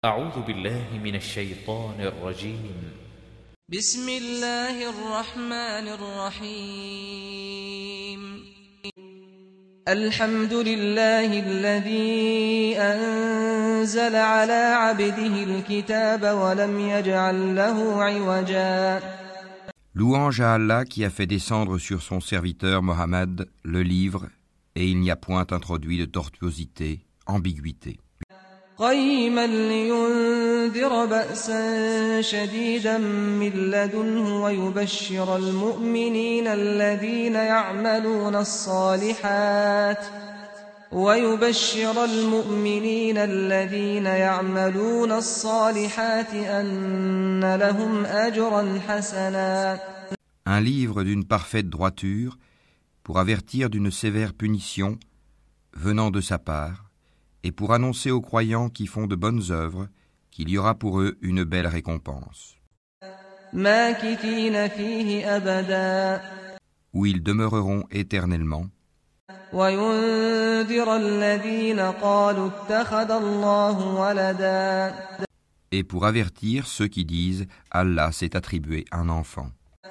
أعوذ بالله من الشيطان الرجيم. بسم الله الرحمن الرحيم. الحمد لله الذي أنزل على عبده الكتاب ولم يجعل له عوجا. Louange à Allah qui a fait descendre sur son serviteur Mohammed le livre, et il n'y a point introduit de tortuosité, ambiguïté. قيما لينذر بأسا شديدا من لدنه ويبشر المؤمنين الذين يعملون الصالحات أن لهم أجرا حسنا. Un livre d'une parfaite droiture pour avertir d'une sévère punition venant de sa part, et pour annoncer aux croyants qui font de bonnes œuvres qu'il y aura pour eux une belle récompense, où ils demeureront éternellement, et pour avertir ceux qui disent « Allah s'est attribué un enfant ».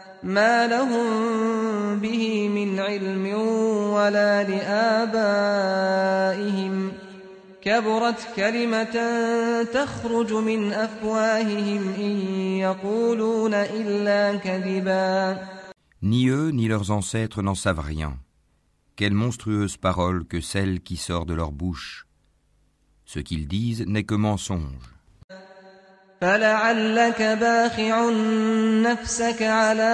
كبرت كلمة تخرج من أفواههم إن يقولون إلا كذبا. Ni eux ni leurs ancêtres n'en savent rien. Quelle monstrueuse parole que celle qui sort de leur bouche. Ce qu'ils disent n'est que mensonge. فلعلك باخع نفسك على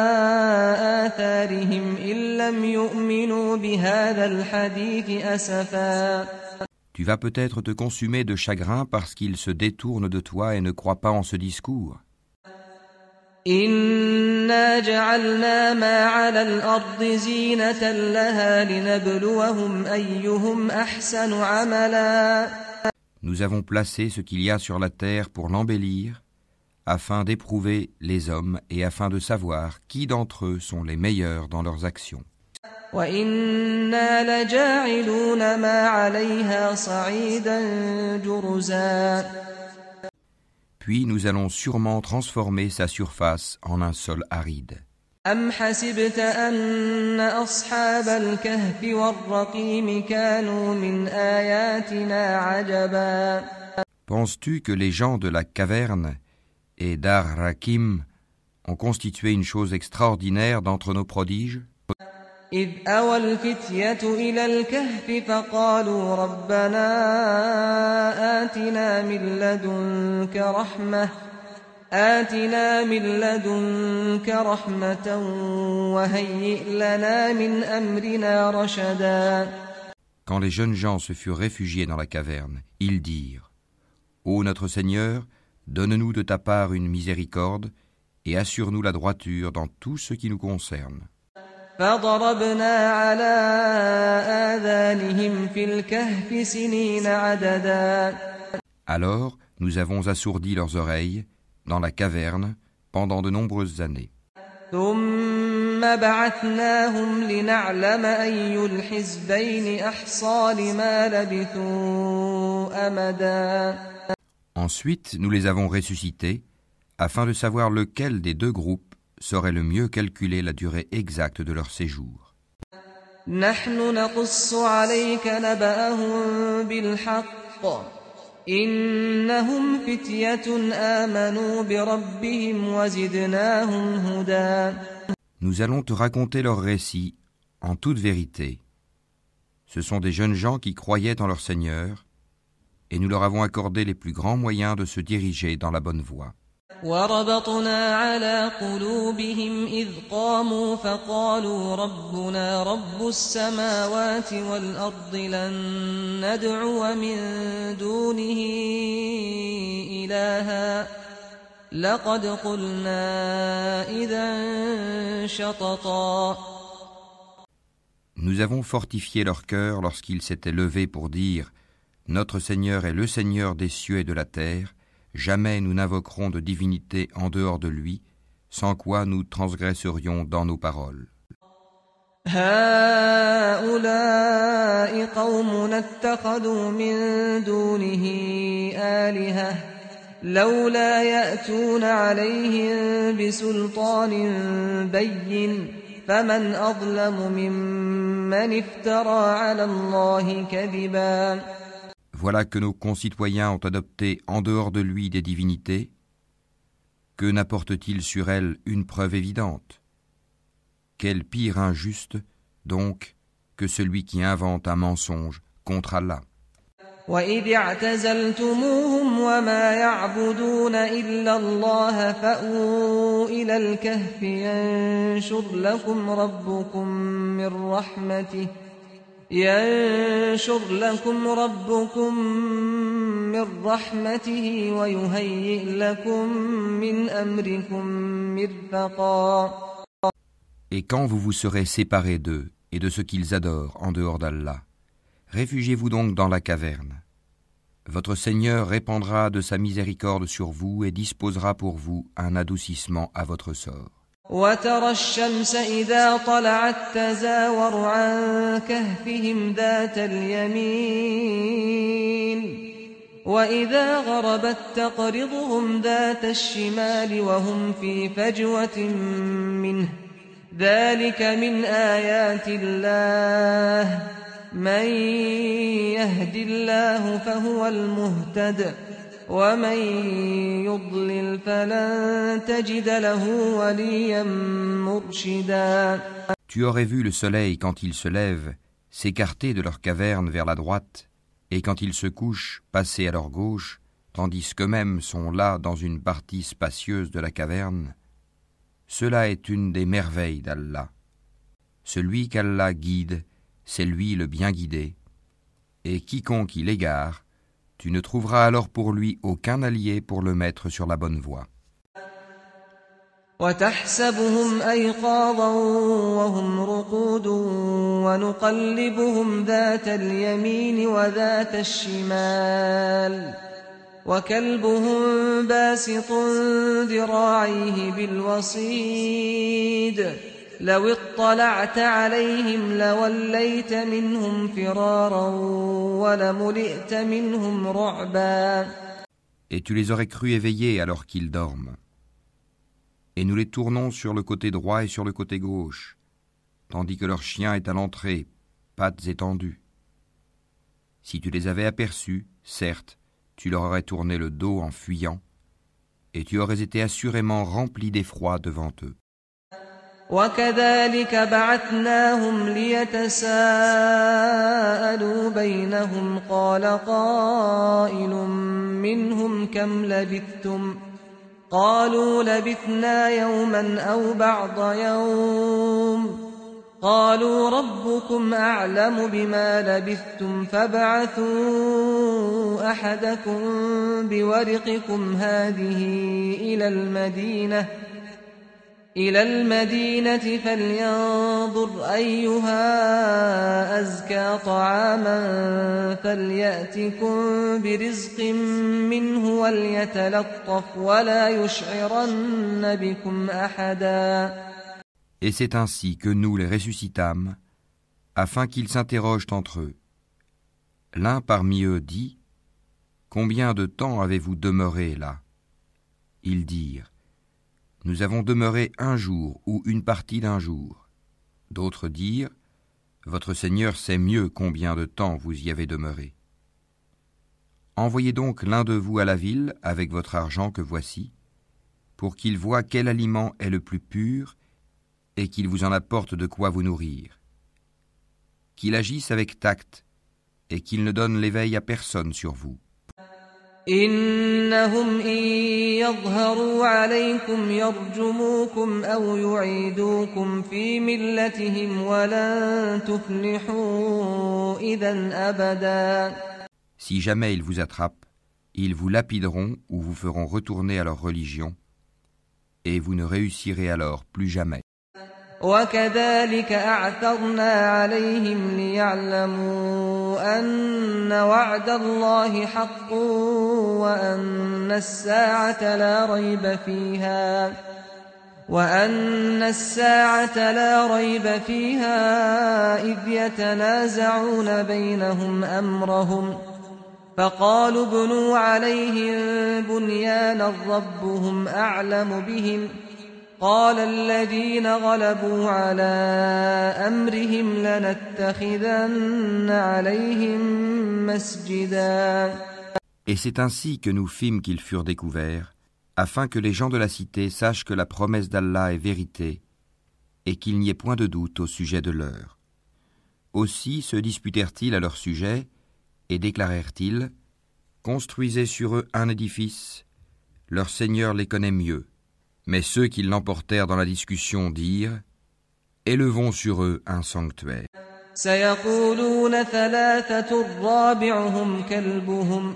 آثارهم إن لم يؤمنوا بهذا الحديث أسفا. Tu vas peut-être te consumer de chagrin parce qu'ils se détournent de toi et ne croient pas en ce discours. إِنَّا جَعَلْنَا مَا عَلَى الْأَرْضِ زِينَةً لَهَا لِنَبْلُوَهُمْ أَيُّهُمْ أَحْسَنُ عَمَلًا. Nous avons placé ce qu'il y a sur la terre pour l'embellir, afin d'éprouver les hommes et afin de savoir qui d'entre eux sont les meilleurs dans leurs actions. وَإِنَّا لَجَاعِلُونَ مَا عَلَيْهَا صَعِيدًا جُرُزًا. Puis nous allons sûrement transformer sa surface en un sol aride. أَمْ حَسِبْتَ أَنَّ أَصْحَابَ الْكَهْفِ وَالرَّقِيمِ كَانُوا مِنْ آيَاتِنَا عَجَبًا. Penses-tu que les gens de la caverne et d'Ar-Rakim ont constitué une chose extraordinaire d'entre nos prodiges? إذ أوى الفتية إلى الكهف فقالوا ربنا آتنا من لدنك رحمة وهيئ لنا من أمرنا رشدا. Quand les jeunes gens se furent réfugiés dans la caverne, ils dirent : Ô notre Seigneur, donne-nous de ta part une miséricorde et assure-nous la droiture dans tout ce qui nous concerne. فضربنا على آذانهم في الكهف سنين عددا. Alors nous avons assourdi leurs oreilles dans la caverne pendant de nombreuses années. ثم بعثناهم لنعلم أي الحزبين أحصى لما لبثوا أمدا. Ensuite nous les avons ressuscités afin de savoir lequel des deux groupes saurait le mieux calculer la durée exacte de leur séjour. نحن نقص عليك نبأهم بالحق إنهم فتية آمنوا بربهم وزدناهم هدى. Nous allons te raconter leur récit en toute vérité. Ce sont des jeunes gens qui croyaient en leur Seigneur, et nous leur avons accordé les plus grands moyens de se diriger dans la bonne voie. وربطنا على قلوبهم إذ قاموا فقالوا ربنا رب السماوات والأرض لن ندعو من دونه إلها لقد قلنا إذا شططا. Nous avons fortifié leur cœur lorsqu'ils s'étaient levés pour dire : Notre Seigneur est le Seigneur des cieux et de la terre. Jamais nous n'invoquerons de divinité en dehors de lui, sans quoi nous transgresserions dans nos paroles. هؤلاء قومنا اتخذوا من دونه آلهة لولا يأتون عليهم بسلطان بين فمن أظلم ممن افترى على الله كذبا. Voilà que nos concitoyens ont adopté en dehors de lui des divinités. Que n'apporte-t-il sur elles une preuve évidente? Quel pire injuste, donc, que celui qui invente un mensonge contre Allah. وَإِذِ اعْتَزَلْتُمُوهُمْ وَمَا يَعْبُدُونَ إِلَّا اللَّهَ فَأْوُوا إِلَى الْكَهْفِ يَنشُرْ لَكُمْ رَبُّكُمْ مِنْ رَحْمَتِهِ وَيُهَيِّئْ لَكُمْ مِنْ أَمْرِكُمْ مِرْفَقًا. Et quand vous vous serez séparés d'eux et de ce qu'ils adorent en dehors d'Allah, réfugiez-vous donc dans la caverne. Votre Seigneur répandra de sa miséricorde sur vous et disposera pour vous un adoucissement à votre sort. وَتَرَى الشَّمْسَ إِذَا طَلَعَتْ تَزَاوَرُ عَنْ كَهْفِهِمْ ذَاتَ الْيَمِينِ وَإِذَا غَرَبَتْ تَقْرِضُهُمْ ذَاتَ الشِّمَالِ وَهُمْ فِي فَجْوَةٍ مِّنْهُ ذَلِكَ مِنْ آيَاتِ اللَّهِ مَنْ يَهْدِ اللَّهُ فَهُوَ الْمُهْتَدِ وَمَنْ يُضْلِلْ فَلَنْ تَجِدَ لَهُ وَلِيًّا مُرْشِدًا. Tu aurais vu le soleil quand il se lève s'écarter de leur caverne vers la droite et quand ils se couchent passer à leur gauche, tandis qu'eux-mêmes sont là dans une partie spacieuse de la caverne. Cela est une des merveilles d'Allah. Celui qu'Allah guide, c'est lui le bien guidé, et quiconque il égare, tu ne trouveras alors pour lui aucun allié pour le mettre sur la bonne voie. وَتَحْسَبُهُمْ أَيْقَاظًا وَهُمْ رُقُودٌ وَنُقَلِّبُهُمْ ذَاتَ الْيَمِينِ وَذَاتَ الشِّمَالِ وَكَلْبُهُمْ بَاسِطٌ ذِرَاعَيْهِ بِالْوَصِيدِ لَوِ اطَّلَعْتَ عَلَيْهِمْ لَوَلَّيْتَ مِنْهُمْ فِرَارًا وَلَمُلِئْتَ مِنْهُمْ رُعْبًا. Et tu les aurais crus éveillés alors qu'ils dorment. Et nous les tournons sur le côté droit et sur le côté gauche, tandis que leur chien est à l'entrée, pattes étendues. Si tu les avais aperçus, certes, tu leur aurais tourné le dos en fuyant, et tu aurais été assurément rempli d'effroi devant eux. وَكَذَلِكَ بَعَثْنَاهُمْ لِيَتَسَاءَلُوا بَيْنَهُمْ قَالَ قَائِلٌ مِّنْهُمْ كَمْ لَبِثْتُمْ قَالُوا لَبِثْنَا يَوْمًا أَوْ بَعْضَ يَوْمٍ قَالُوا رَبُّكُمْ أَعْلَمُ بِمَا لَبِثْتُمْ فَابْعَثُوا أَحَدَكُمْ بِوَرِقِكُمْ هَٰذِهِ إِلَى الْمَدِينَةِ فَلْيَنظُرْ أَيُّهَا أَزْكَىٰ طَعَامًا فَلْيَأْتِكُم بِرِزْقٍ مِّنْهُ وَلْيَتَلَطَّفْ وَلَا يُشْعِرَنَّ بِكُمْ أَحَدًا. Et c'est ainsi que nous les ressuscitâmes, afin qu'ils s'interrogent entre eux. L'un parmi eux dit : Combien de temps avez-vous demeuré là ? Ils dirent : Nous avons demeuré un jour ou une partie d'un jour. D'autres dirent : Votre Seigneur sait mieux combien de temps vous y avez demeuré. Envoyez donc l'un de vous à la ville avec votre argent que voici, pour qu'il voie quel aliment est le plus pur et qu'il vous en apporte de quoi vous nourrir. Qu'il agisse avec tact et qu'il ne donne l'éveil à personne sur vous. إِنَّهُمْ إِن يَظْهَرُوا عَلَيْكُمْ يَرْجُمُوكُمْ أَوْ يُعِيدُوكُمْ فِي مِلَّتِهِمْ وَلَن تُفْلِحُوا إِذًا أَبَدًا. Si jamais ils vous attrapent, ils vous lapideront ou vous feront retourner à leur religion, et vous ne réussirez alors plus jamais. وَكَذَلِكَ أَعْثَرْنَا عَلَيْهِمْ لِيَعْلَمُوا أَنَّ وَعْدَ اللَّهِ حَقٌّ وَأَنَّ السَّاعَةَ لَا رَيْبَ فِيهَا وأن الساعة لا ريب فيها إذ يتنازعون بينهم أمرهم فقالوا ابنوا عليهم بنيانا ربهم أعلم بهم قال الذين غلبوا على أمرهم لنتخذن عليهم مسجدا. Et c'est ainsi que nous fîmes qu'ils furent découverts, afin que les gens de la cité sachent que la promesse d'Allah est vérité et qu'il n'y ait point de doute au sujet de l'heure. Aussi se disputèrent-ils à leur sujet et déclarèrent-ils : construisez sur eux un édifice, leur Seigneur les connaît mieux. Mais ceux qui l'emportèrent dans la discussion dirent : élevons sur eux un sanctuaire. سيقولون ثلاثة رابعهم كلبهم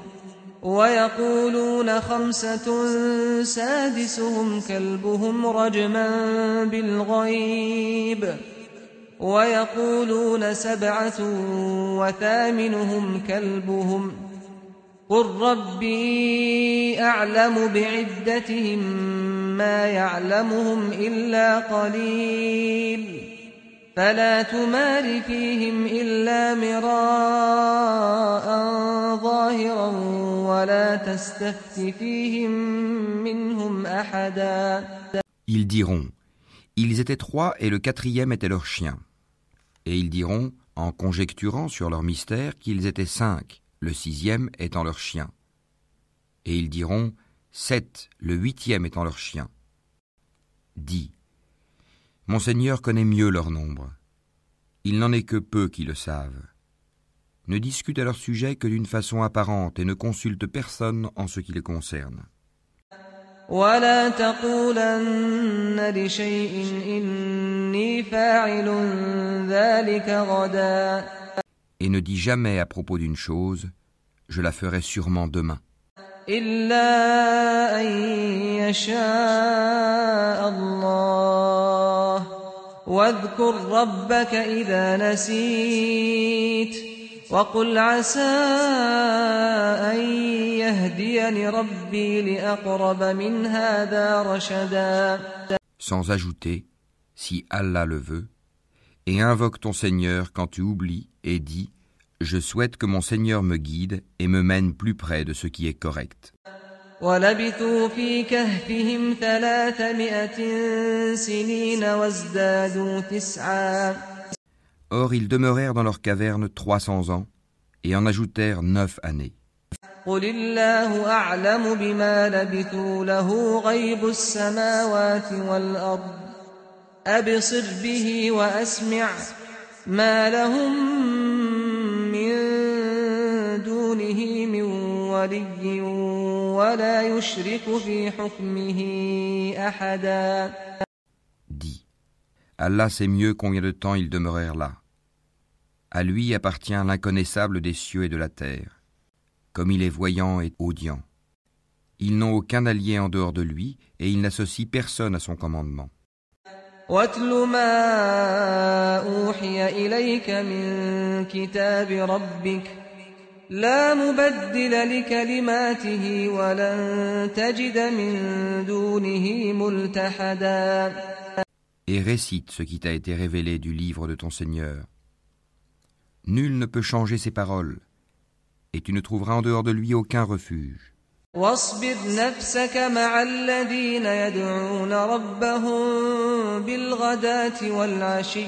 ويقولون خمسة سادسهم كلبهم رجما بالغيب ويقولون سبعة وثامنهم كلبهم قل ربي أعلم بعدتهم ما يعلمهم إلا قليل فلا تمار فيهم إلا مراء ظاهرا ولا تستفت فيهم منهم أحدا. Ils diront : ils étaient 3 et le 4e était leur chien. Et ils diront, en conjecturant sur leur mystère, qu'ils étaient 5, le 6e étant leur chien. Et ils diront 7, le 8e étant leur chien. Dis : mon Seigneur connaît mieux leur nombre. Il n'en est que peu qui le savent. Ne discute à leur sujet que d'une façon apparente et ne consulte personne en ce qui les concerne. ولا تقولن لشيء إني فاعل ذلك غدا. Et ne dis jamais à propos d'une chose : je la ferai sûrement demain. إلا أن يشاء الله واذكر ربك إذا نسيت وقل عسى أن يهديني ربي لأقرب من هذا رشدا. Sans ajouter, si Allah le veut, et invoque ton Seigneur quand tu oublies et dis : je souhaite que mon Seigneur me guide et me mène plus près de ce qui est correct. وَلَبِثُوا فِي كَهْفِهِمْ 300 سِنِينَ وَازْدَادُوا 9. Or ils demeurèrent dans leur caverne 300 ans et en ajoutèrent 9 années. قُلِ اللَّهُ أَعْلَمُ بِمَا لَبِثُوا لَهُ غَيْبُ السَّمَاوَاتِ وَالْأَرْضِ أَبْصِرْ بِهِ وَأَسْمِعْ مَا لَهُم مِّن دُونِهِ مِن وَلِيٍّ وَلَا يُشْرِكُ فِي حُكْمِهِ أَحَدًا. Dis : Allah sait mieux combien de temps ils demeurèrent là. À lui appartient l'inconnaissable des cieux et de la terre, comme il est voyant et audient. Ils n'ont aucun allié en dehors de lui et il n'associe personne à son commandement. وَاتْلُ مَا أُوحِيَ إِلَيْكَ مِن كِتَابِ رَبِّكَ لَا مُبَدِّلَ لِكَلِمَاتِهِ وَلَن تَجِدَ مِن دُونِهِ مُلْتَحَدًا. Et récite ce qui t'a été révélé du livre de ton Seigneur. Nul ne peut changer ses paroles, et tu ne trouveras en dehors de lui aucun refuge. واصبر نفسك مع الذين يدعون ربهم بالغداة والعشي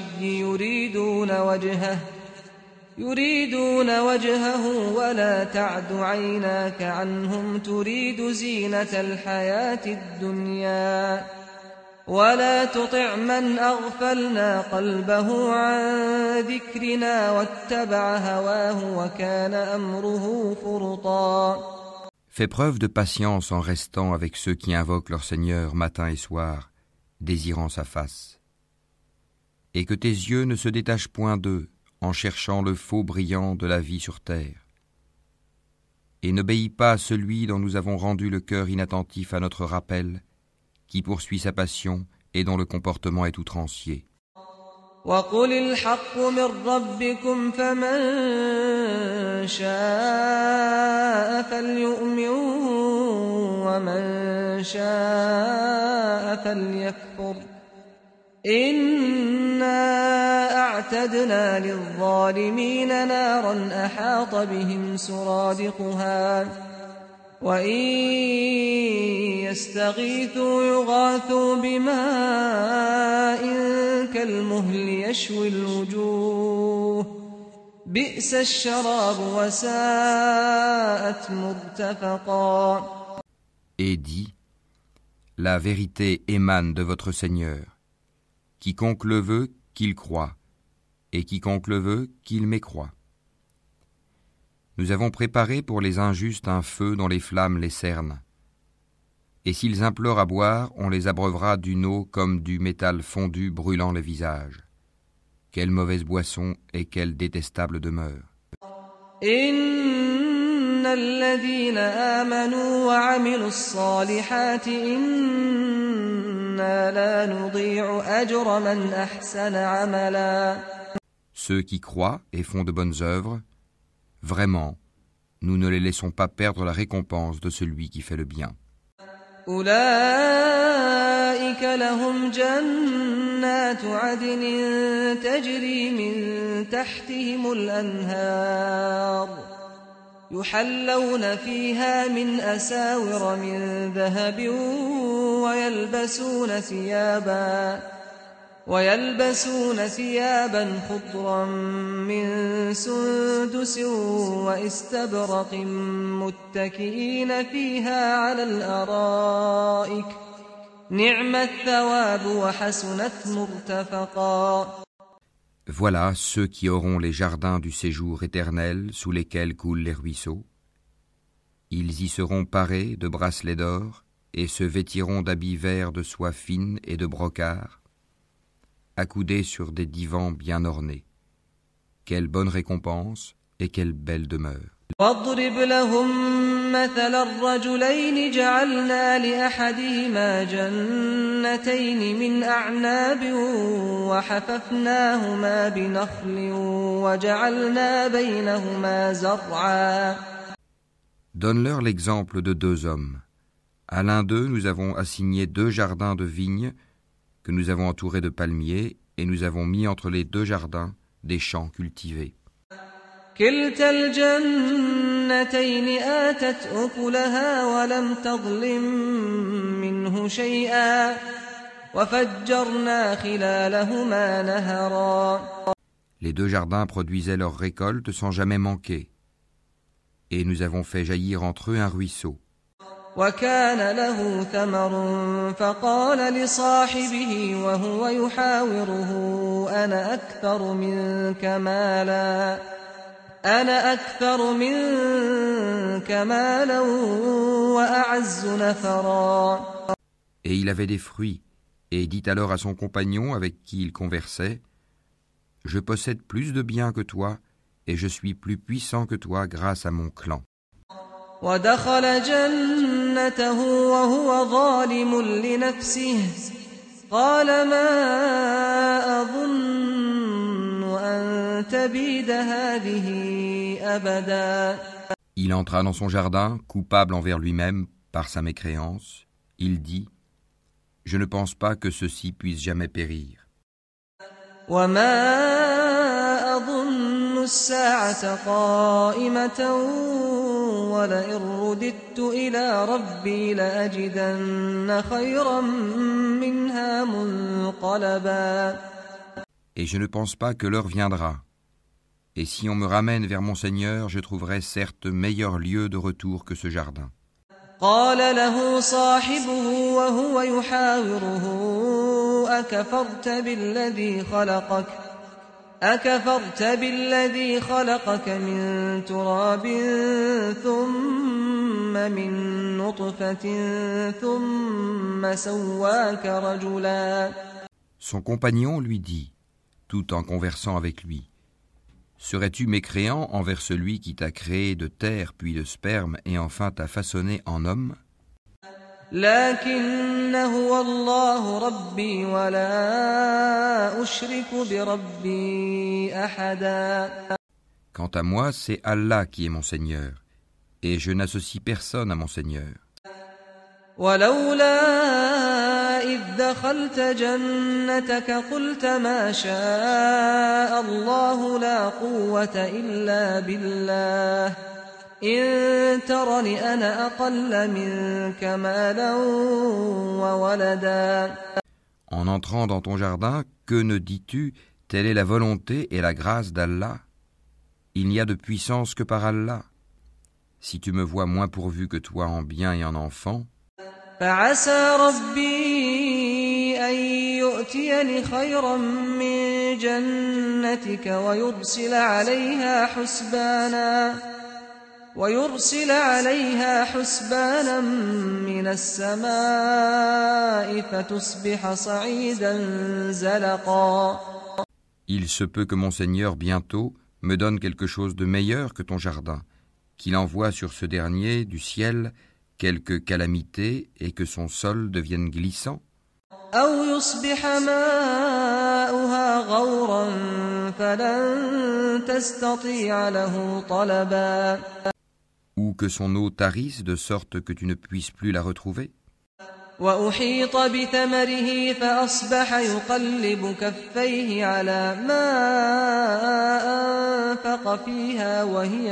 يريدون وجهه ولا تعد عيناك عنهم تريد زينة الحياة الدنيا ولا تطع من أغفلنا قلبه عن ذكرنا واتبع هواه وكان أمره فرطا. Fais preuve de patience en restant avec ceux qui invoquent leur Seigneur matin et soir, désirant sa face. Et que tes yeux ne se détachent point d'eux en cherchant le faux brillant de la vie sur terre. Et n'obéis pas à celui dont nous avons rendu le cœur inattentif à notre rappel, qui poursuit sa passion et dont le comportement est outrancier. وَقُلِ الْحَقُّ مِنْ رَبِّكُمْ فَمَنْ شَاءَ فَلْيُؤْمِنْ وَمَنْ شَاءَ فليكفر إنا أعتدنا للظالمين نارا أحاط بهم سرادقها وإن يستغيثوا يغاثوا بماء كالمهل يشوي الوجوه بئس الشراب وساءت مرتفقا. Et dit, la vérité émane de votre Seigneur. Quiconque le veut, qu'il croie, et quiconque le veut, qu'il mécroie. Nous avons préparé pour les injustes un feu dont les flammes les cernent. Et s'ils implorent à boire, on les abreuvera d'une eau comme du métal fondu brûlant le visage. Quelle mauvaise boisson et quelle détestable demeure. Inna alladhina amanu wa amilu s-salihati inna la nudhi'u ajra man ahsana amala. Ceux qui croient et font de bonnes œuvres, vraiment, nous ne les laissons pas perdre la récompense de celui qui fait le bien. أولئك لهم جنات عدن تجري من تحتهم الأنهار يحلون فيها من أساور من ذهب ويلبسون ثيابا خضرا من سندس واستبرق متكئين فيها على الأرائك نعم الثواب وحسنت مرتفقا. Voilà ceux qui auront les jardins du séjour éternel sous lesquels coulent les ruisseaux. Ils y seront parés de bracelets d'or et se vêtiront d'habits verts de soie fine et de brocart, accoudés sur des divans bien ornés. Quelle bonne récompense et quelle belle demeure. واضرب لهم مثل الرجلين جعلنا لأحدهما جنتين من أعناب وحففناهما بنخل وجعلنا بينهما زرعا. Donne-leur l'exemple de deux hommes. À l'un d'eux, nous avons assigné 2 jardins de vignes que nous avons entourés de palmiers, et nous avons mis entre les 2 jardins des champs cultivés. كلتا الجنتين آتت أكلها ولم تظلم منه شيئا وفجرنا خلالهما نهرا. Les 2 jardins produisaient leur récolte sans jamais manquer, et nous avons fait jaillir entre eux un ruisseau. وكان له ثمر فقال لصاحبه وهو يحاوره أنا أكثر منك مالا وأعز نفرا. Et il avait des fruits, et dit alors à son compagnon avec qui il conversait, « Je possède plus de biens que toi, et je suis plus puissant que toi grâce à mon clan. » ودخل جنته وهو ظالم لنفسه قال ما أظن أن تبيد هذه أبدا. Il entra dans son jardin, coupable envers lui-même par sa mécréance. Il dit, « Je ne pense pas que ceci puisse jamais périr. » وما أظن الساعة قائمة ولئن رددت إلى ربي لأجدن خيرا منها منقلبا. Et je ne pense pas que l'heure viendra. Et si on me ramène vers mon Seigneur, je trouverai certes meilleur lieu de retour que ce jardin. قال له صاحبه وهو يحاوره أكفرت بالذي خلقك من تراب ثم من نطفة ثم سواك رجلا. Son compagnon lui dit, tout en conversant avec lui, « Serais-tu mécréant envers celui qui t'a créé de terre puis de sperme et enfin t'a façonné en homme ? لكن هو الله ربي ولا أشرك بربي أحدا. Quant à moi, c'est Allah qui est mon Seigneur, et je n'associe personne à mon Seigneur. ولولا إذ دخلت جنتك قلت ما شاء الله لا قوة إلا بالله إن ترني أنا أقل منك مالا وولدا. En entrant dans ton jardin, que ne dis-tu? Telle est la volonté et la grâce d'Allah. Il n'y a de puissance que par Allah. Si tu me vois moins pourvu que toi en biens et en enfants, فعسى ربي أن يؤتيني خيرا من جنتك ويرسل عليها حسبانا من السماء فتصبح صعيدا زلقا. il se peut que mon Seigneur bientôt me donne quelque chose de meilleur que ton jardin, qu'il envoie sur ce dernier du ciel quelque calamité et que son sol devienne glissant. أو يصبح ماؤها غورا فلن تستطيع له طلبا. Ou que son eau tarisse de sorte que tu ne puisses plus la retrouver. وأحيط بثمره فأصبح يقلب كفيه على ما أنفق فيها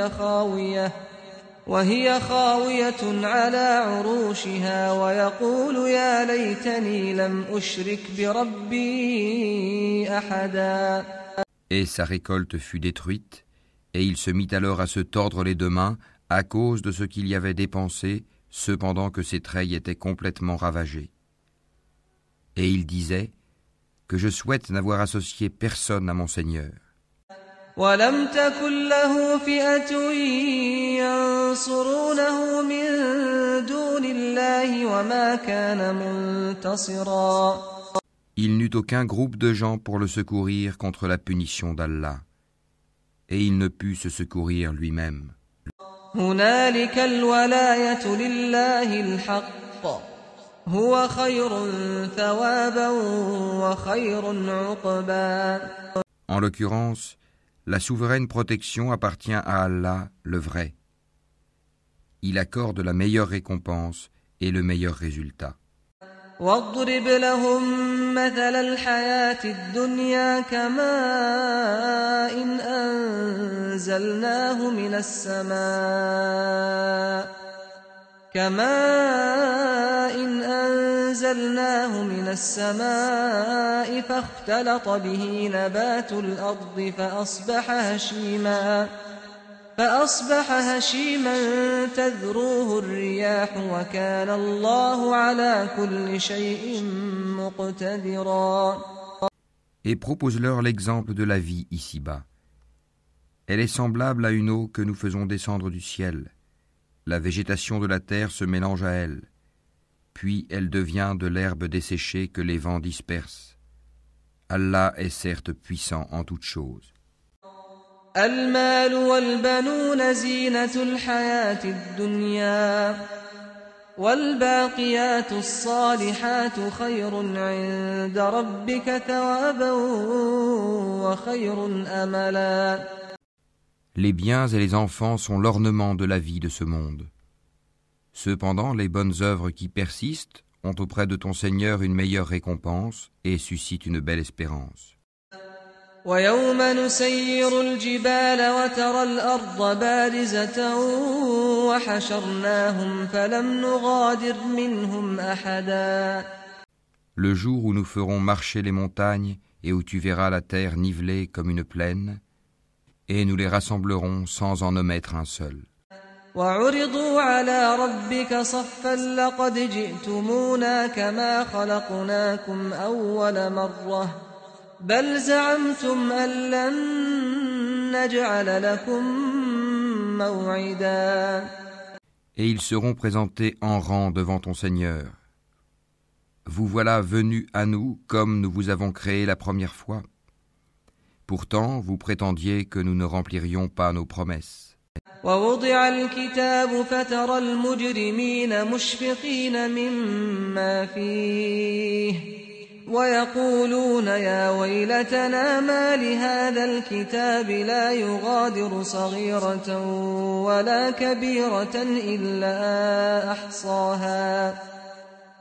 وهي خاوية على عروشها ويقول يا ليتني لم أشرك بربي أحدا. Et sa récolte fut détruite, et il se mit alors à se tordre les deux mains à cause de ce qu'il y avait dépensé, cependant que ses treilles étaient complètement ravagées. Et il disait que je souhaite n'avoir associé personne à mon Seigneur. وَلَمْ تَكُنْ لَهُ فِئَةٌ يَنْصُرُونَهُ مِنْ دُونِ اللَّهِ وَمَا كَانَ مُنْتَصِرًا. Il n'eut aucun groupe de gens pour le secourir contre la punition d'Allah, et il ne put se secourir lui-même. هُنَالِكَ الْوَلَايَةُ لِلَّهِ الْحَقِّ هُوَ خَيْرٌ ثَوَابًا وَخَيْرٌ عُقْبًا. En l'occurrence, la souveraine protection appartient à Allah, le vrai. Il accorde la meilleure récompense et le meilleur résultat. واضرب لهم مثل الحياة الدنيا كماء أنزلناه من السماء فاختلط به نبات الأرض فأصبح هشيما تذروه الرياح وكان الله على كل شيء مقتدرا. Et propose-leur l'exemple de la vie ici-bas. Elle est semblable à une eau que nous faisons descendre du ciel. La végétation de la terre se mélange à elle, puis elle devient de l'herbe desséchée que les vents dispersent. Allah est certes puissant en toutes choses. المال والبنون زينة الحياة الدنيا والباقيات الصالحات خير عند ربك ثوابا وخير أملا. Les biens et les enfants sont l'ornement de la vie de ce monde. Cependant, les bonnes œuvres qui persistent ont auprès de ton Seigneur une meilleure récompense et suscitent une belle espérance. ويوم نسير الجبال وترى الأرض بارزة وحشرناهم فلم نغادر منهم أحدا. Le jour où nous ferons marcher les montagnes et où tu verras la terre nivelée comme une plaine, et nous les rassemblerons sans en omettre un seul. وعرضوا على ربك صفا لقد جئتمونا كما خلقناكم أول مرة بل زعمتم أن لن نجعل لكم موعدا. Et ils seront présentés en rang devant ton Seigneur. Vous voilà venus à nous comme nous vous avons créé la première fois. Pourtant, vous prétendiez que nous ne remplirions pas nos promesses. ووضع الكتاب فترى المجرمين مشفقين مما فيه ويقولون يا ويلتنا ما لهذا الكتاب لا يغادر صغيرة ولا كبيرة إلا أحصاها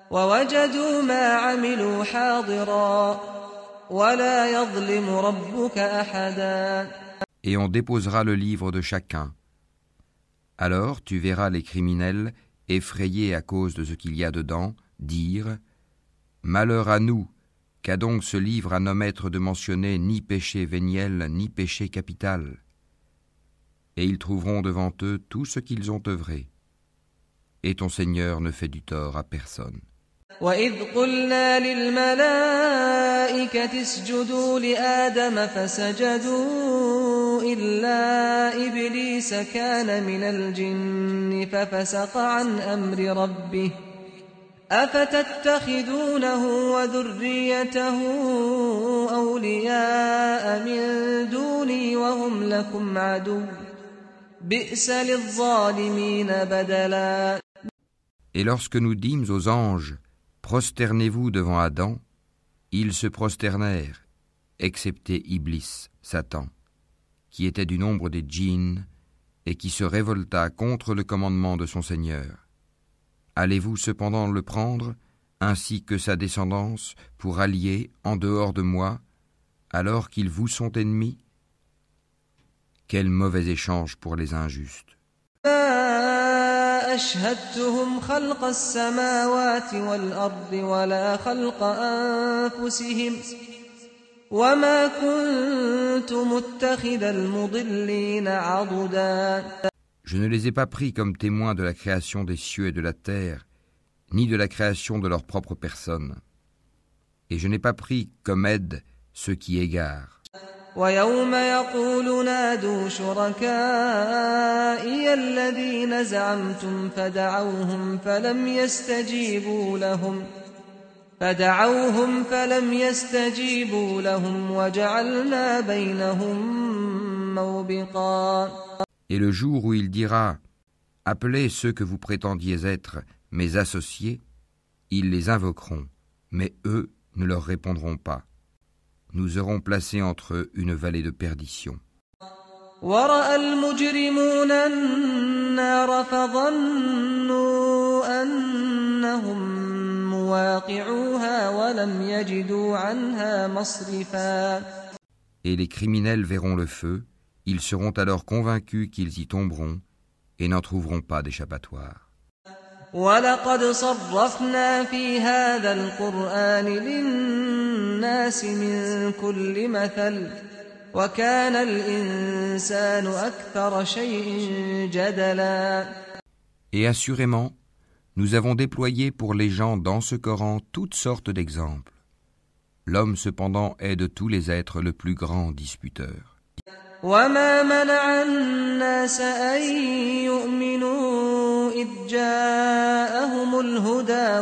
ووجدوا ما عملوا حاضرا ولا يظلم ربك أحدا. Et on déposera le livre de chacun. Alors tu verras les criminels, effrayés à cause de ce qu'il y a dedans, dire « Malheur à nous, qu'a donc ce livre à n'omettre de mentionner ni péché véniel, ni péché capital ?» Et ils trouveront devant eux tout ce qu'ils ont œuvré. Et ton Seigneur ne fait du tort à personne. وَإِذْ قُلْنَا لِلْمَلَائِكَةِ اسْجُدُوا لِآدَمَ فَسَجَدُوا إِلَّا إِبْلِيسَ كَانَ مِنَ الْجِنِّ فَفَسَقَ عَنْ أَمْرِ رَبِّهِ أَفَتَتَّخِذُونَهُ وَذُرِّيَّتَهُ أَوْلِيَاءَ مِن دُونِي وَهُمْ لَكُمْ عَدُوٌّ بِئْسَ لِلظَّالِمِينَ بَدَلًا. Et lorsque nous dîmes aux anges, prosternez-vous devant Adam, ils se prosternèrent, excepté Iblis, Satan, qui était du nombre des djinns et qui se révolta contre le commandement de son Seigneur. Allez-vous cependant le prendre, ainsi que sa descendance, pour allier en dehors de moi, alors qu'ils vous sont ennemis? Quel mauvais échange pour les injustes! أشهدتهم خلق السماوات والأرض ولا خلق أنفسهم وما كنت متخذ المضلين عضدا. Je ne les ai pas pris comme témoins de la création des cieux et de la terre, ni de la création de leur propre personne. Et je n'ai pas pris comme aide ceux qui égarent. ويوم يقول نادوا شركائي الذين زعمتم فدعوهم فلم يستجيبوا لهم وجعلنا بينهم موبقا. Et le jour où il dira « Appelez ceux que vous prétendiez être mes associés », ils les invoqueront, mais eux ne leur répondront pas. Nous aurons placé entre eux une vallée de perdition. ورأى المجرمون النار فظنوا أنهم مواقعوها ولم يجدوا عنها مصرفا. Et les criminels verront le feu, ils seront alors convaincus qu'ils y tomberont et n'en trouveront pas d'échappatoire. وَلَقَدْ صَرَّفْنَا فِي هَذَا الْقُرْآنِ لِلنَّاسِ مِنْ كُلِّ مَثَلٍ وَكَانَ الْإِنسَانُ أَكْثَرَ شَيْءٍ جَدَلًا. Et assurément, nous avons déployé pour les gens dans ce Coran toutes sortes d'exemples. L'homme cependant est de tous les êtres le plus grand disputeur. وَمَا مَنَعَ النَّاسَ أَن يُؤْمِنُوا إِذْ جَاءَهُمُ الْهُدَى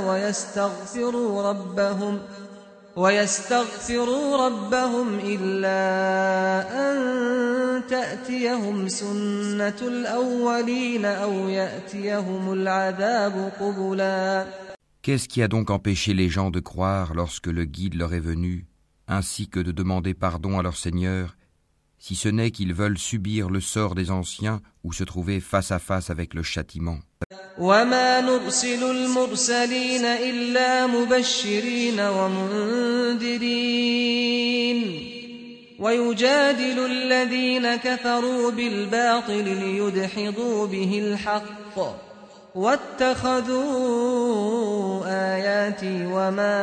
وَيَسْتَغْفِرُوا رَبَّهُمْ إِلَّا أَن تَأْتِيَهُمْ سُنَّةُ الْأَوَّلِينَ أَوْ يَأْتِيَهُمُ الْعَذَابُ قُبُلًا. Qu'est-ce qui a donc empêché les gens de croire lorsque le guide leur est venu, ainsi que de demander pardon à leur Seigneur, si ce n'est qu'ils veulent subir le sort des anciens ou se trouver face à face avec le châtiment. وَمَا نُرْسِلُ الْمُرْسَلِينَ إِلَّا مُبَشِّرِينَ وَمُنذِرِينَ وَيُجَادِلُ الَّذِينَ كَفَرُوا بِالْبَاطِلِ لِيُدْحِضُوا بِهِ الْحَقَّ وَاتَّخَذُوا آيَاتِي وَمَا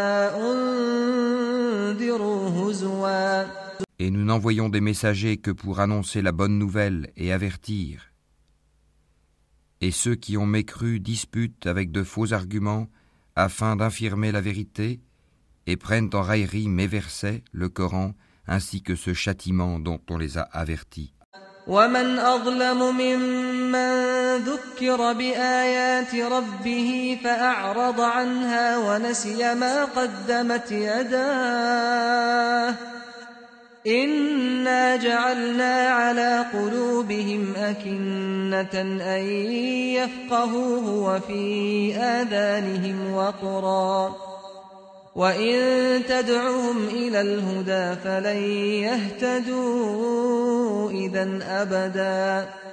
أُنذِرُوا هُزُوًا. Et nous n'envoyons des messagers que pour annoncer la bonne nouvelle et avertir. Et ceux qui ont mécru disputent avec de faux arguments afin d'infirmer la vérité et prennent en raillerie mes versets, le Coran, ainsi que ce châtiment dont on les a avertis. وَمَنْ أَظْلَمُ مِمَّنْ ذُكِّرَ بِآيَاتِ رَبِّهِ فَأَعْرَضَ عَنْهَا وَنَسِيَ مَا قَدَّمَتْ يَدَاهُ إِنَّا جَعَلْنَا عَلَى قُلُوبِهِمْ أَكِنَّةً أَن يَفْقَهُوهُ وَفِي آذَانِهِمْ وَقْرًا وَإِن تَدْعُهُمْ إِلَى الْهُدَى فَلَن يَهْتَدُوا إِذًا أَبَدًا.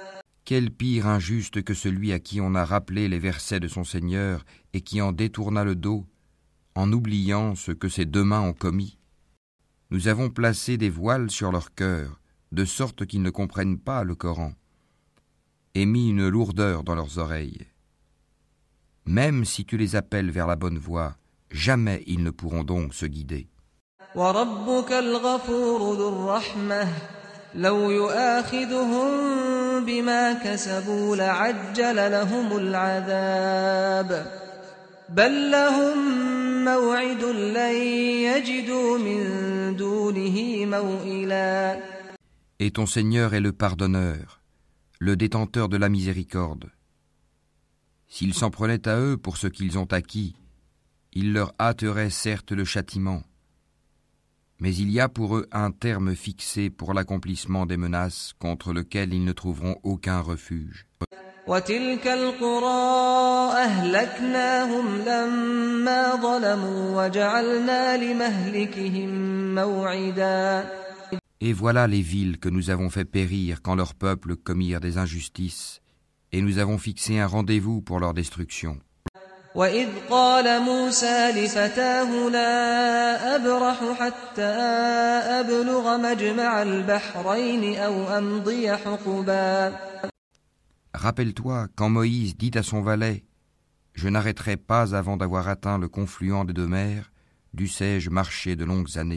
Quel pire injuste que celui à qui on a rappelé les versets de son Seigneur et qui en détourna le dos, en oubliant ce que ses deux mains ont commis. Nous avons placé des voiles sur leur cœur, de sorte qu'ils ne comprennent pas le Coran, et mis une lourdeur dans leurs oreilles. Même si tu les appelles vers la bonne voie, jamais ils ne pourront donc se guider. وربك الغفور ذو الرحمة لو يؤاخذهم بما كسبوا لعجل لهم العذاب بل لهم موعد لن يجدوا من دونه موئلا. Et ton Seigneur est le pardonneur, le détenteur de la miséricorde. S'ils s'en prenaient à eux pour ce qu'ils ont acquis, il leur hâterait certes le châtiment. Mais il y a pour eux un terme fixé pour l'accomplissement des menaces contre lequel ils ne trouveront aucun refuge. وتلك القرى أهلكناهم لما ظلموا وجعلنا لمهلكهم موعدا. Et voilà les villes que nous avons fait périr quand leurs peuples commirent des injustices, et nous avons fixé un rendez-vous pour leur destruction. وإذ قال موسى لفتاه لا أبرح حتى أبلغ مجمع البحرين أو أمضي حقبا. Rappelle-toi quand Moïse dit à son valet « Je n'arrêterai pas avant d'avoir atteint le confluent des deux mers, dussé-je marcher de longues années. »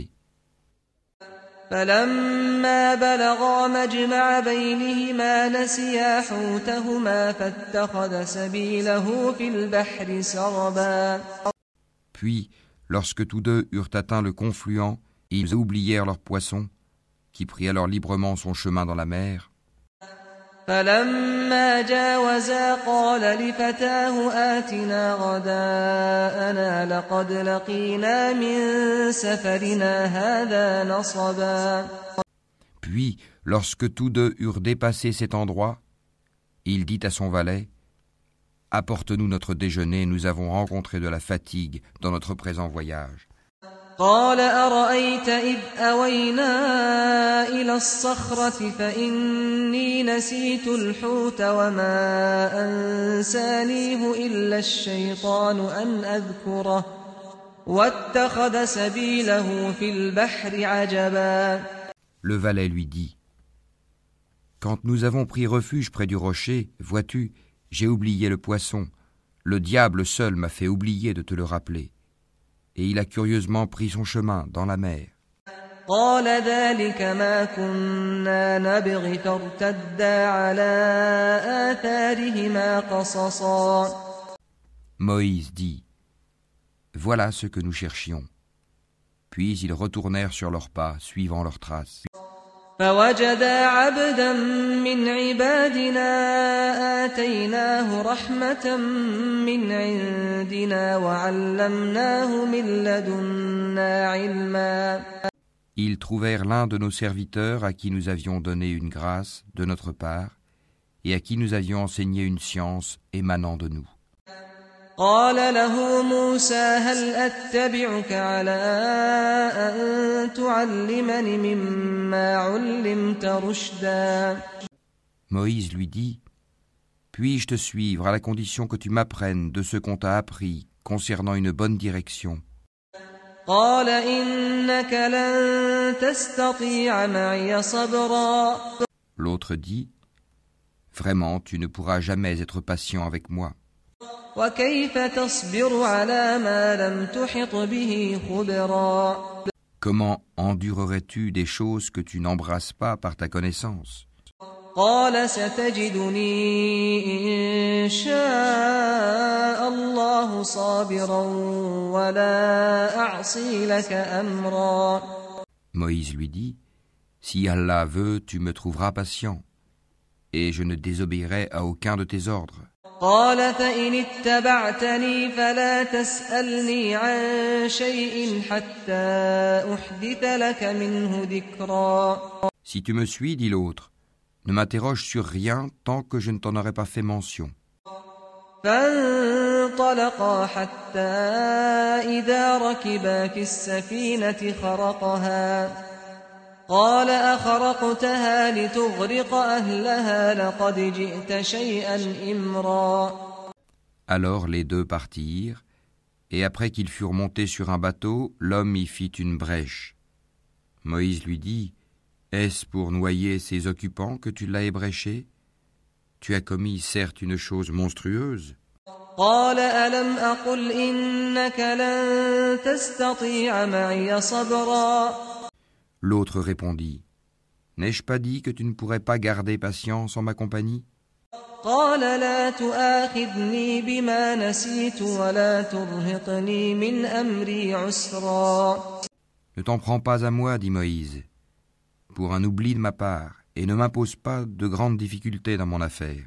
فلما بلغا مجمع بينهما نسيا حوتهما فاتخذ سبيله في البحر سربا. Puis, lorsque tous deux eurent atteint le confluent, ils oublièrent leur poisson, qui prit alors librement son chemin dans la mer. فلما جاوزا قال لفتاه آتنا غداءنا لقد لقينا من سفرنا هذا نصبا. Puis, lorsque tous deux eurent dépassé cet endroit, il dit à son valet « Apporte-nous notre déjeuner, nous avons rencontré de la fatigue dans notre présent voyage. » قال أرأيت إذ أوينا إلى الصخرة فإني نسيت الحوت وما أنسانيه إلا الشيطان أن أذكره واتخذ سبيله في البحر عجبا. Le valet lui dit « Quand nous avons pris refuge près du rocher, vois-tu, j'ai oublié le poisson. Le diable seul m'a fait oublier de te le rappeler. » Et il a curieusement pris son chemin dans la mer. قال ذلك ما كنا نبغي فارتدا على آثارهما قصصا. Moïse dit « Voilà ce que nous cherchions. » Puis ils retournèrent sur leurs pas, suivant leurs traces. فوجدا عبدا من عبادنا آتيناه رحمة من عندنا وعلمناه من لدنا علما. Ils trouvèrent l'un de nos serviteurs à qui nous avions donné une grâce de notre part et à qui nous avions enseigné une science émanant de nous. قال له موسى هل أتبعك على أن تعلمني مما علمت رشدا. Moïse lui dit « Puis-je te suivre à la condition que tu m'apprennes de ce qu'on t'a appris concernant une bonne direction ?» قال إنك لن تستطيع معي صبرا. L'autre dit « Vraiment, tu ne pourras jamais être patient avec moi. وكيف تصبر على ما لم تحط به خبرا. Comment endurerais-tu des choses que tu n'embrasses pas par ta connaissance ? قال ستجدني إن شاء الله صابرا ولا أعصي لك أمرا. Moïse lui dit « Si Allah veut, tu me trouveras patient, et je ne désobéirai à aucun de tes ordres. » قال فإن اتبعتني فلا تسألني عن شيء حتى أحدث لك منه ذكرا. Si tu me suis, dit l'autre, ne m'interroge sur rien tant que je ne t'en aurai pas fait mention. فانطلقا حتى إذا ركبا في السفينة قال أخرقتها لتغرق أهلها لقد جئت شيئا إمرا. Alors les deux partirent, et après qu'ils furent montés sur un bateau, l'homme y fit une brèche. Moïse lui dit, « Est-ce pour noyer ses occupants que tu l'as ébréché ? Tu as commis certes une chose monstrueuse. » قال ألم أقل إنك لن تستطيع معي صبرا. L'autre répondit, « N'ai-je pas dit que tu ne pourrais pas garder patience en ma compagnie ? قال لا تؤاخذني بما نسيت ولا ترهقني من أمري عسرا. Ne t'en prends pas à moi, dit Moïse, pour un oubli de ma part, et ne m'impose pas de grandes difficultés dans mon affaire.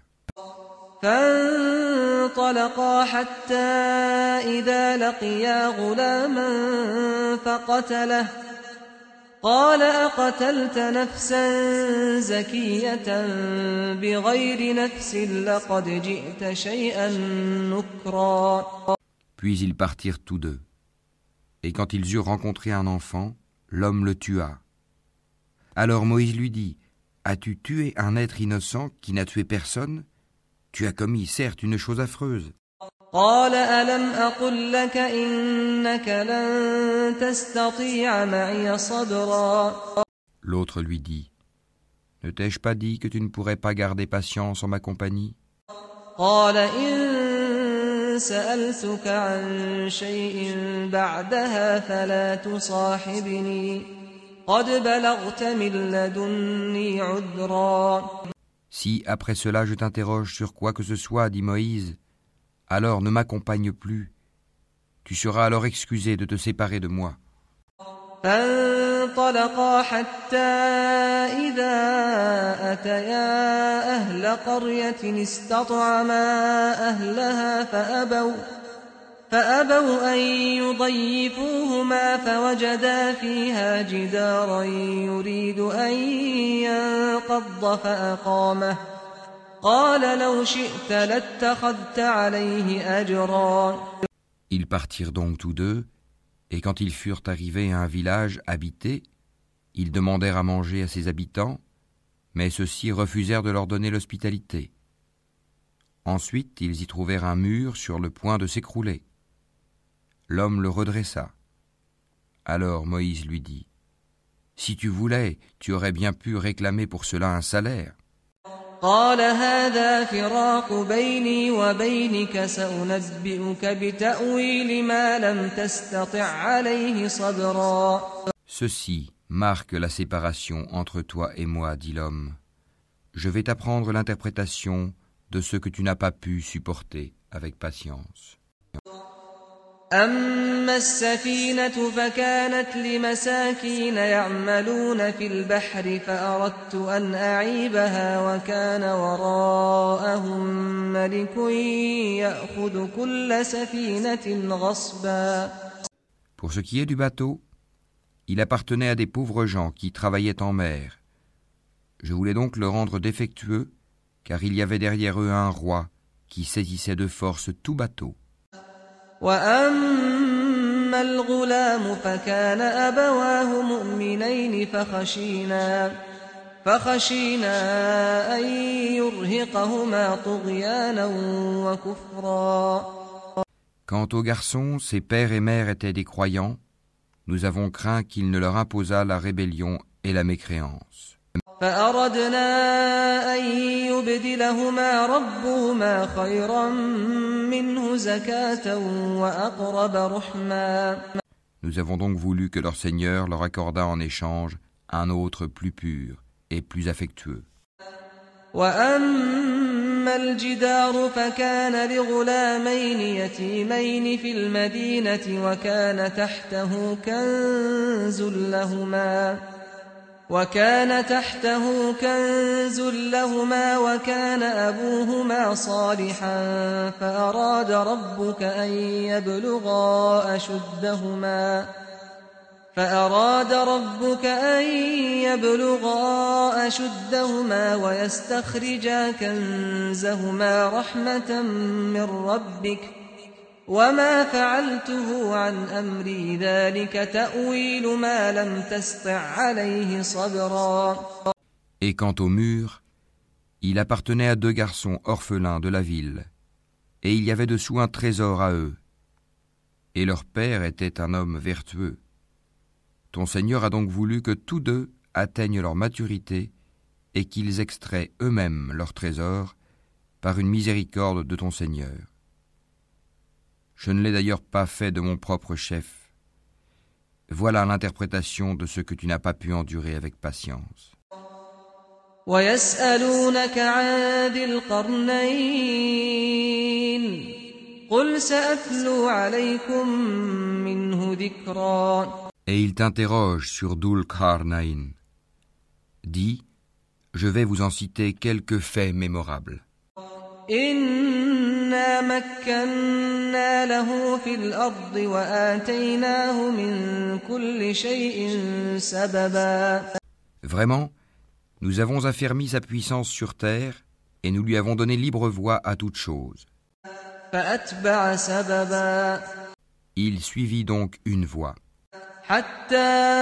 فانطلقا حتى إذا لقيا غلاما فقتله قال أقتلت نفسا زكية بغير نفس لقد جئت شيئا نكرا. Puis ils partirent tous deux. Et quand ils eurent rencontré un enfant, l'homme le tua. Alors Moïse lui dit, « As-tu tué un être innocent qui n'a tué personne ? Tu as commis certes une chose affreuse. » قال ألم أقل لك إنك لن تستطيع معي صبرا. L'autre lui dit, « Ne t'ai-je pas dit que tu ne pourrais pas garder patience en ma compagnie ? قال إن سألتك عن شيء بعدها فلا تصاحبني قد بلغت من لدني عذرا. Si après cela je t'interroge sur quoi que ce soit, dit Moïse, alors ne m'accompagne plus. Tu seras alors excusé de te séparer de moi. فانطلقا حتى إذا أتيا أهل قرية استطعما أهلها فأبوا أن يضيفوهما فوجدا فيها جدارا يريد أن ينقض فأقامه قال لو شئت لاتخذت عليه أجرا. Ils partirent donc tous deux, et quand ils furent arrivés à un village habité, ils demandèrent à manger à ses habitants, mais ceux-ci refusèrent de leur donner l'hospitalité. Ensuite, ils y trouvèrent un mur sur le point de s'écrouler. L'homme le redressa. Alors Moïse lui dit, « Si tu voulais, tu aurais bien pu réclamer pour cela un salaire. » قال هذا فراق بيني وبينك سأنبئك بتأويل ما لم تستطع عليه صبرا. Ceci marque la séparation entre toi et moi, dit l'homme. Je vais t'apprendre l'interprétation de ce que tu n'as pas pu supporter avec patience. أما السفينة فكانت لمساكين يعملون في البحر فأردت أن أعيبها وكان وراءهم ملك يأخذ كل سفينة غصبا. Pour ce qui est du bateau, il appartenait à des pauvres gens qui travaillaient en mer. Je voulais donc le rendre défectueux, car il y avait derrière eux un roi qui saisissait de force tout bateau. وأما الغلام فكان أبواه مؤمنين فخشينا أن يرهقهما طغيانا وكفرا. Quant aux garçons, ses pères et mères étaient des croyants. Nous avons craint qu'il ne leur imposât la rébellion et la mécréance. فأردنا أن يبدلهما ربهما خيرا منه زكاة وأقرب رحما. Nous avons donc voulu que leur Seigneur leur accordât en échange un autre plus pur et plus affectueux. وأما الجدار فكان لغلامين يتيمين في المدينة وكان تحته كنز لهما وكان أبوهما صالحا فأراد ربك أن يبلغا أشدهما ويستخرجا كنزهما رحمة من ربك وما فعلته عن أمري ذلك تأويل ما لم تسطع عليه صبرا. Et quant au mur, il appartenait à 2 garçons orphelins de la ville, et il y avait dessous un trésor à eux. Et leur père était un homme vertueux. Ton Seigneur a donc voulu que tous 2 atteignent leur maturité et qu'ils extraient eux-mêmes leur trésor par une miséricorde de ton Seigneur. Je ne l'ai d'ailleurs pas fait de mon propre chef. Voilà l'interprétation de ce que tu n'as pas pu endurer avec patience. ويسألونك عن ذي القرنين قل سأتلو عليكم منه ذكرا. Et il t'interroge sur Dhul Qarnayn. Dis, je vais vous en citer quelques faits mémorables. إنا مكنا له في الأرض وآتيناه من كل شيء سببا. Vraiment, nous avons affermi sa puissance sur terre et nous lui avons donné libre voie à toute chose. فأتبع سببا. Il suivit donc une voie. حتى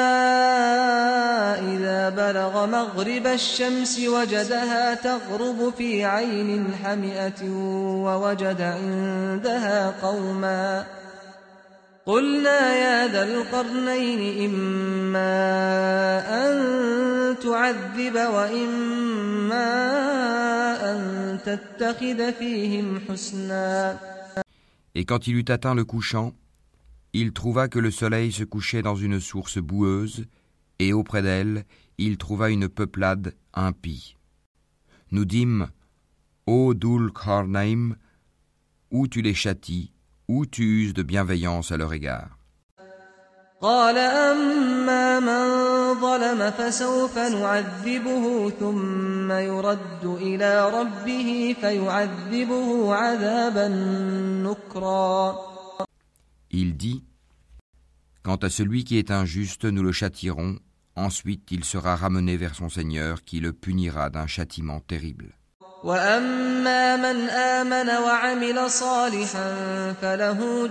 إذا بلغ مغرب الشمس وجدها تغرب في عين حمئة ووجد عندها قوما قلنا يا ذا القرنين إما أن تعذب وإما أن تتخذ فيهم حسنا. Et quand il eut atteint le couchant, il trouva que le soleil se couchait dans une source boueuse, et auprès d'elle, il trouva une peuplade impie. Nous dîmes, ô Dhul Qarnayn, ou tu les châties, ou tu uses de bienveillance à leur égard. قال أما من ظلم فسوف نعذبه ثم يرد إلى ربه فيعذبه عذابا نكرا. Il dit, quant à celui qui est injuste, nous le châtierons, ensuite il sera ramené vers son Seigneur qui le punira d'un châtiment terrible. وأما من آمن وعمل صالحا فله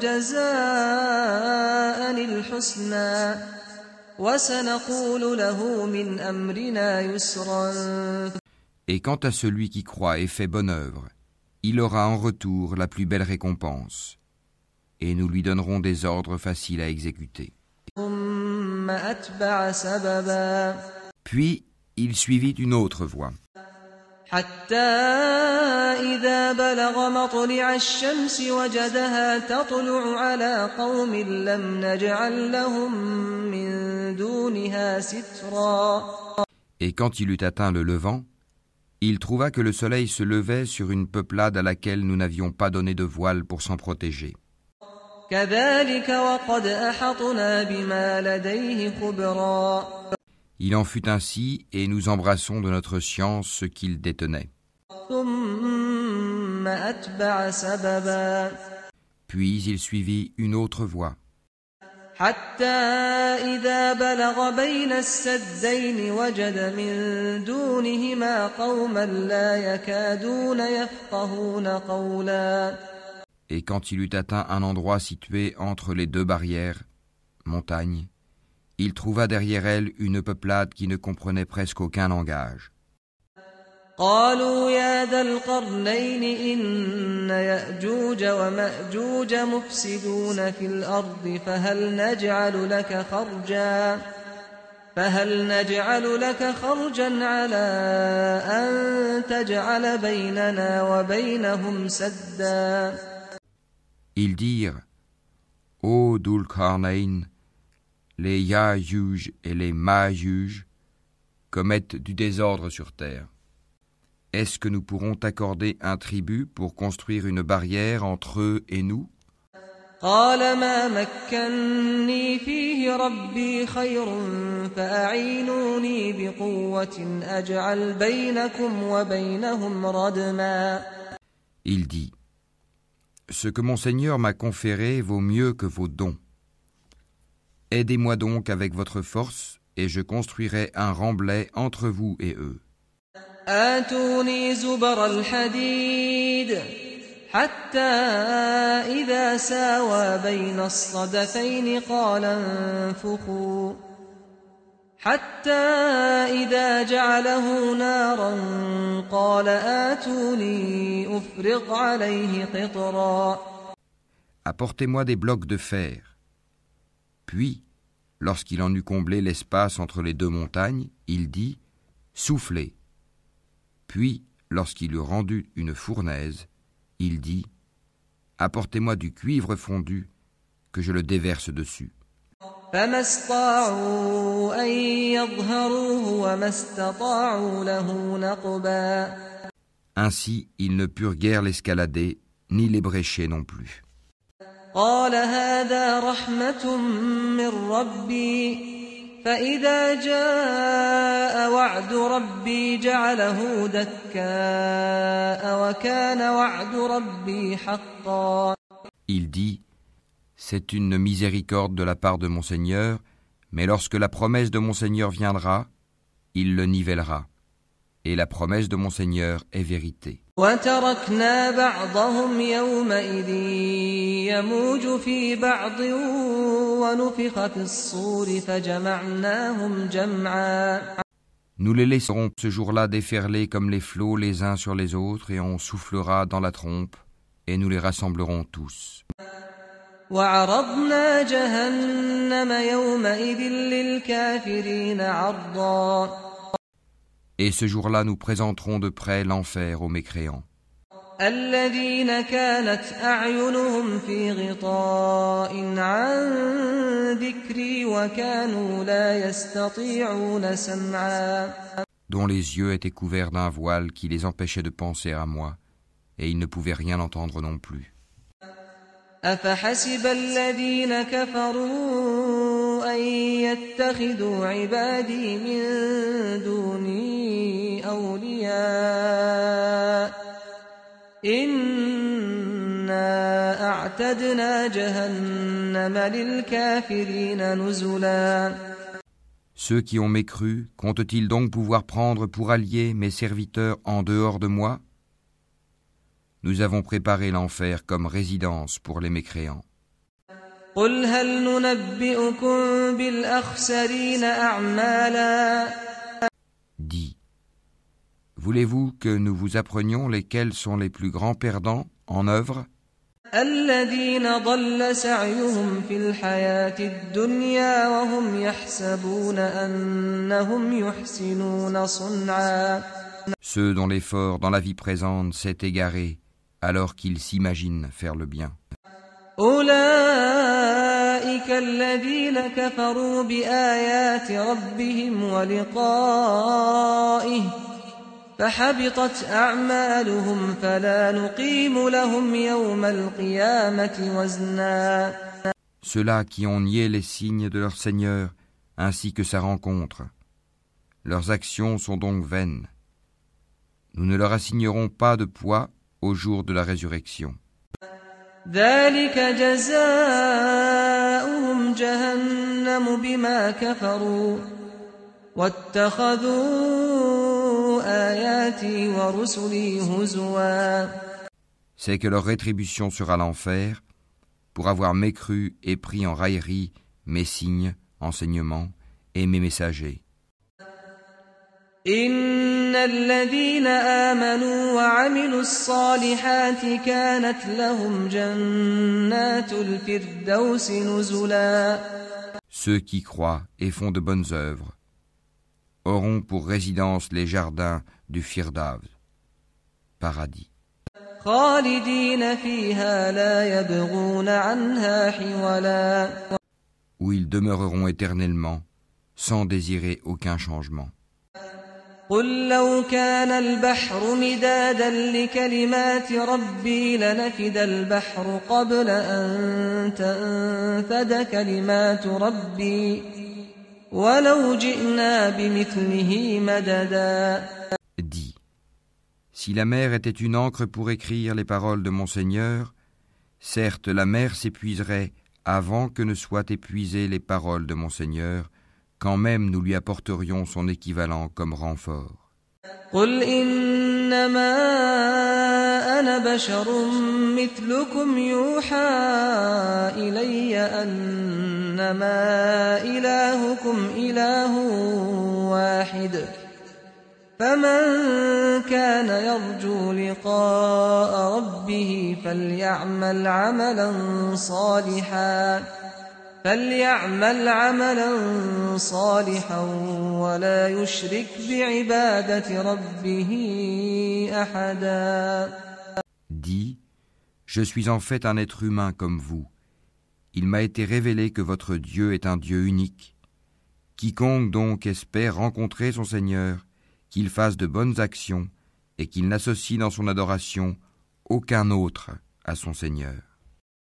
جزاء الحسنى وسنقول له من أمرنا يسرا. Et quant à celui qui croit et fait bonne œuvre, il aura en retour la plus belle récompense, et nous lui donnerons des ordres faciles à exécuter. ثم أتبع سببا. Puis il suivit une autre voie. حتى إذا بلغ مطلع الشمس وجدها تطلع على قوم لم نجعل لهم من دونها سترا. Et quand il eut atteint le levant, il trouva que le soleil se levait sur une peuplade à laquelle nous n'avions pas donné de voile pour s'en protéger. كذلك وقد أحطنا بما لديه خبرا. Il en fut ainsi, et nous embrassons de notre science ce qu'il détenait. ثم أتبع سببا. Puis il suivit une autre voie. حتى إذا بلغ بين السدين وجد من دونهما قوما لا يكادون يفقهون قولا. Et quand il eut atteint un endroit situé entre les 2 barrières, montagnes, il trouva derrière elle une peuplade qui ne comprenait presque aucun langage. قالوا يا ذا القرنين إن يأجوج ومأجوج مفسدون في الأرض فهل نجعل لك خرجا على أن تجعل بيننا وبينهم سدا. Ils dirent, ô Dhul Qarnayn, les Ya'juj et les Ma'juj commettent du désordre sur terre. Est-ce que nous pourrons t'accorder un tribut pour construire une barrière entre eux et nous? قال ما مكني فيه ربي خير فأعينوني بقوة أجعل بينكم وبينهم ردما. Il dit, ce que mon Seigneur m'a conféré vaut mieux que vos dons. Aidez-moi donc avec votre force, et je construirai un remblai entre vous et eux. آتوني زبر الحديد حتى إذا ساوى بين الصدفين قال انفخوا حتى إذا جعله نارا قال آتوني أفرغ عليه قطرا. Apportez-moi des blocs de fer. Puis, lorsqu'il en eut comblé l'espace entre les deux montagnes, il dit « Soufflez ». Puis, lorsqu'il eut rendu une fournaise, il dit « Apportez-moi du cuivre fondu, que je le déverse dessus. » فما استطاعوا أن يظهروه وما استطاعوا له نقبا. Ainsi, ils ne purent guère l'escalader, ni l'ébrécher non plus. قال هذا رحمة من ربي فإذا جاء وعد ربي جعله دكاء وكان وعد ربي حقا. Il dit « C'est une miséricorde de la part de mon Seigneur, mais lorsque la promesse de mon Seigneur viendra, il le nivellera. Et la promesse de mon Seigneur est vérité. » وتركنا بعضهم يومئذ يموج في بعض ونفخ في الصور فجمعناهم جمعا. Nous les laisserons ce jour-là déferler comme les flots les uns sur les autres, et on soufflera dans la trompe, et nous les rassemblerons tous. وعرضنا جهنم يومئذ للكافرين عرضا. Et ce jour-là, nous présenterons de près l'enfer aux mécréants. الذين كانت أعينهم في غطاء عن ذكري وكانوا لا يستطيعون سمعا. Dont les yeux étaient couverts d'un voile qui les empêchait de penser à moi, et ils ne pouvaient rien entendre non plus. أفحسب الذين كفروا أن يتخذوا عبادي من دوني أولياء إنا أعتدنا جهنم للكافرين نزلا. Ceux qui ont mécru, comptent-ils donc pouvoir prendre pour alliés mes serviteurs en dehors de moi ? Nous avons préparé l'enfer comme résidence pour les mécréants. قل هل ننبئكم بالأخسرين أعمالا. Dis, voulez-vous que nous vous apprenions lesquels sont les plus grands perdants en œuvre ? الذين ضل سعيهم في الحياة الدنيا وهم يحسبون أنهم يحسنون صنعا. Ceux dont l'effort dans la vie présente s'est égaré alors qu'ils s'imaginent faire le bien. أولئك الذين كفروا بآيات ربهم ولقائه فحبطت أعمالهم فلا نقيم لهم يوم القيامة وزنا. Ceux-là qui ont nié les signes de leur Seigneur ainsi que sa rencontre, leurs actions sont donc vaines. Nous ne leur assignerons pas de poids au jour de la résurrection. ذلك جزاؤهم جهنم بما كفروا واتخذوا آياتي ورسلي هزوا. C'est que leur rétribution sera l'enfer pour avoir mécru et pris en raillerie mes signes, enseignements et mes messagers. إن الذين آمنوا وعملوا الصالحات كانت لهم جنات الفردوس نزلا. Ceux qui croient et font de bonnes œuvres auront pour résidence les jardins du Firdaus, paradis, خالدين فيها لا يبغون عنها حولا. où ils demeureront éternellement sans désirer aucun changement. قل لو كان البحر مدادا لكلمات ربي لنفد البحر قبل أن تنفد كلمات ربي ولو جئنا بمثله مددا. Dis, si la mer était une encre pour écrire les paroles de mon Seigneur, certes la mer s'épuiserait avant que ne soient épuisées les paroles de mon Seigneur, quand même nous lui apporterions son équivalent comme renfort. قل إنما أنا بشر مثلكم يوحى إلي أنما إلهكم إله واحد فمن كان يرجو لقاء ربه فليعمل عملا صالحا ولا يشرك بعبادة ربه أحدا. Dis, je suis en fait un être humain comme vous. Il m'a été révélé que votre Dieu est un Dieu unique. Quiconque donc espère rencontrer son Seigneur, qu'il fasse de bonnes actions et qu'il n'associe dans son adoration aucun autre à son Seigneur.